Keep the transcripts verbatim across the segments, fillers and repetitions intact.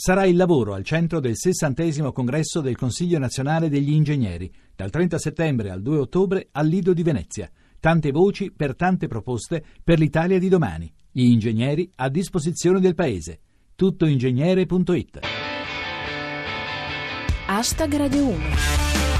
Sarà il lavoro al centro del sessantesimo congresso del Consiglio Nazionale degli Ingegneri, dal trenta settembre al due ottobre al Lido di Venezia. Tante voci per tante proposte per l'Italia di domani. Gli ingegneri a disposizione del Paese. tuttoingegnere punto it. Hashtag Radio uno.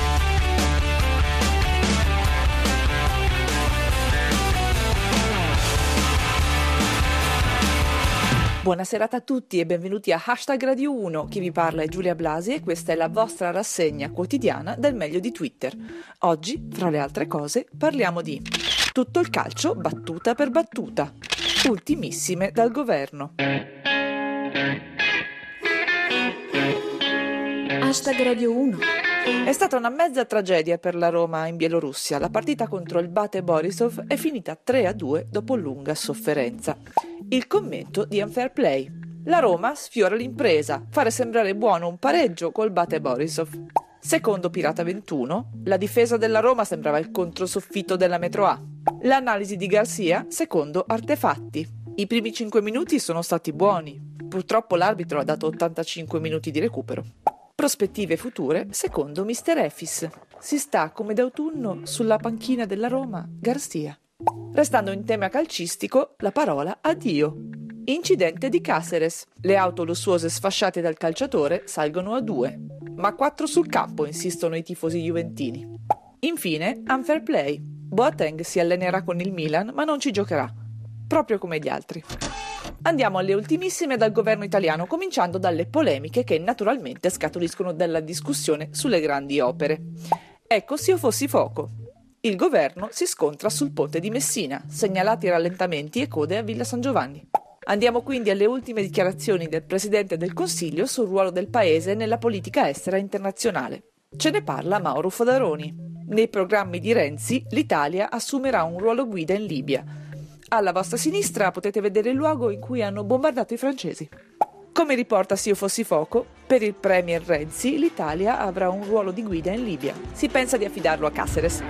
Buona serata a tutti e benvenuti a Hashtag Radio uno. Chi vi parla è Giulia Blasi e questa è la vostra rassegna quotidiana del meglio di Twitter. Oggi, fra le altre cose, parliamo di tutto il calcio battuta per battuta, ultimissime dal governo. Hashtag Radio uno. È stata una mezza tragedia per la Roma in Bielorussia. La partita contro il Bate Borisov è finita tre a due dopo lunga sofferenza. Il commento di Unfair Play. La Roma sfiora l'impresa, fare sembrare buono un pareggio col Bate Borisov. Secondo Pirata ventuno, la difesa della Roma sembrava il controsoffitto della Metro A. L'analisi di Garcia, secondo Artefatti. I primi cinque minuti sono stati buoni. Purtroppo l'arbitro ha dato ottantacinque minuti di recupero. Prospettive future, secondo mister Efis. Si sta come d'autunno sulla panchina della Roma, Garcia. Restando in tema calcistico, la parola addio. Incidente di Cáceres. Le auto lussuose sfasciate dal calciatore salgono a due. Ma quattro sul campo, insistono i tifosi juventini. Infine, Unfair Play. Boateng si allenerà con il Milan, ma non ci giocherà. Proprio come gli altri. Andiamo alle ultimissime dal governo italiano, cominciando dalle polemiche che naturalmente scaturiscono dalla discussione sulle grandi opere. Ecco Se io fossi fuoco. Il governo si scontra sul ponte di Messina, segnalati rallentamenti e code a Villa San Giovanni. Andiamo quindi alle ultime dichiarazioni del Presidente del Consiglio sul ruolo del Paese nella politica estera internazionale. Ce ne parla Mauro Fodaroni. Nei programmi di Renzi, l'Italia assumerà un ruolo guida in Libia. Alla vostra sinistra potete vedere il luogo in cui hanno bombardato i francesi. Come riporta Se io fossi fuoco, per il premier Renzi l'Italia avrà un ruolo di guida in Libia. Si pensa di affidarlo a Cáceres.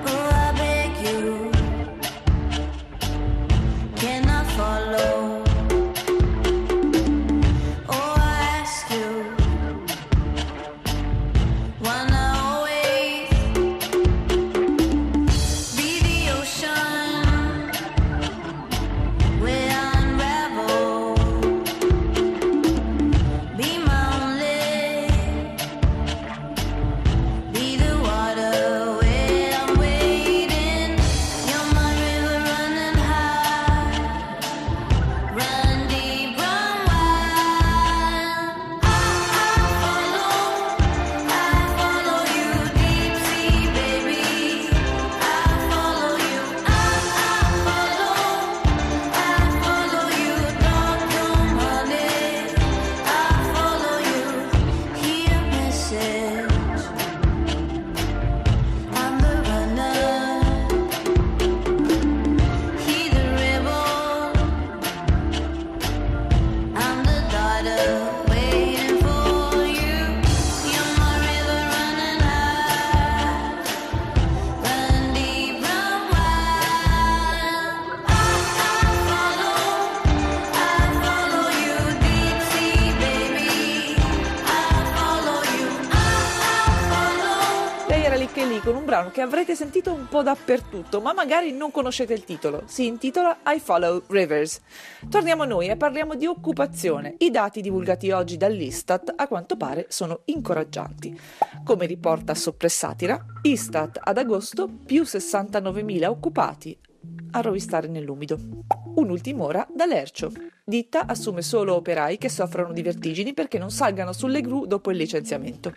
Con un brano che avrete sentito un po' dappertutto, ma magari non conoscete il titolo. Si intitola I Follow Rivers. Torniamo a noi e parliamo di occupazione. I dati divulgati oggi dall'Istat a quanto pare sono incoraggianti. Come riporta Soppressatira, Istat ad agosto più sessantanovemila occupati a rovistare nell'umido. Un'ultima ora da Lercio. Ditta assume solo operai che soffrono di vertigini perché non salgano sulle gru dopo il licenziamento.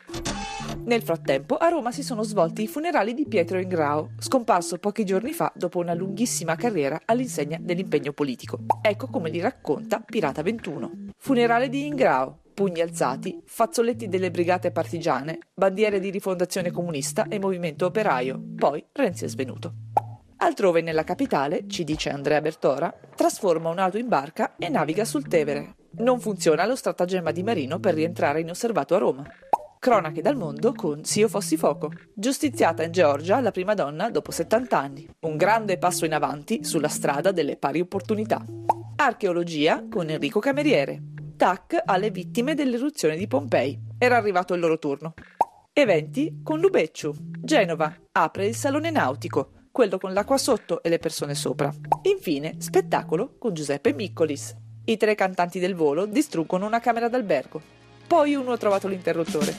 Nel frattempo a Roma si sono svolti i funerali di Pietro Ingrao, scomparso pochi giorni fa dopo una lunghissima carriera all'insegna dell'impegno politico. Ecco come li racconta Pirata ventuno. Funerale di Ingrao, pugni alzati, fazzoletti delle brigate partigiane, bandiere di Rifondazione Comunista e Movimento Operaio. Poi Renzi è svenuto. Altrove nella capitale, ci dice Andrea Bertora, trasforma un'auto in barca e naviga sul Tevere. Non funziona lo stratagemma di Marino per rientrare inosservato a Roma. Cronache dal mondo con Se io fossi fuoco. Giustiziata in Georgia la prima donna dopo settanta anni. Un grande passo in avanti sulla strada delle pari opportunità. Archeologia con Enrico Cameriere. tac alle vittime dell'eruzione di Pompei. Era arrivato il loro turno. Eventi con Lubecciu. Genova apre il salone nautico, quello con l'acqua sotto e le persone sopra. Infine, spettacolo con Giuseppe Miccolis. I tre cantanti del volo distruggono una camera d'albergo. Poi uno ha trovato l'interruttore.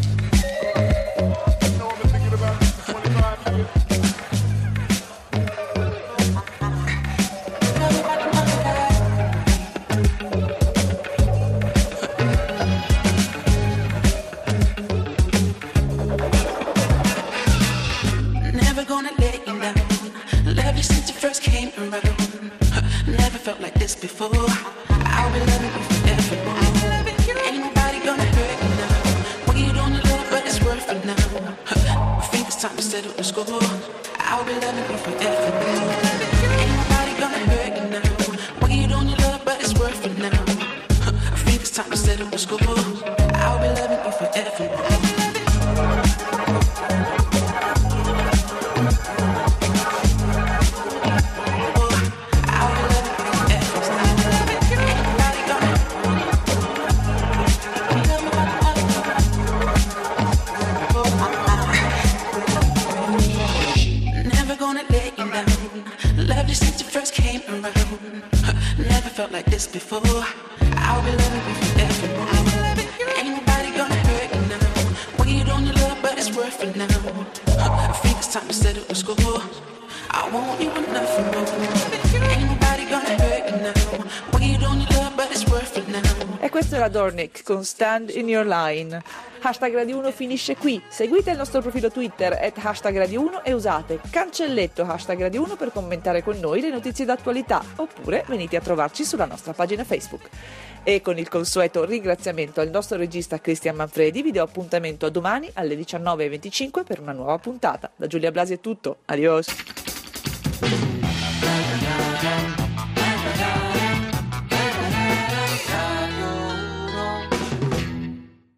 Felt like this before. I'll be loving you forever. Ain't nobody gonna hurt you now. When you don't love, but it's worth it now. I think it's time to settle the score. I'll be loving you forever. Ain't nobody gonna hurt you now. When you don't love, but it's worth it now. I think it's time to settle the score. I'll be loving you forever. Felt like this before. I'll be loving you forever. Ain't nobody gonna hurt you now. When you don't love, but it's worth it now. I think it's time to settle the score. I want you enough for more. Ain't nobody gonna hurt you now. When you don't love, but it's worth it now. E questo era Dornick con Stand in Your Line. Hashtag Radio uno finisce qui. Seguite il nostro profilo Twitter at hashtag Radio uno e usate cancelletto hashtag Radio uno per commentare con noi le notizie d'attualità, oppure venite a trovarci sulla nostra pagina Facebook. E con il consueto ringraziamento al nostro regista Cristian Manfredi vi do appuntamento a domani alle diciannove e venticinque per una nuova puntata. Da Giulia Blasi è tutto, adios!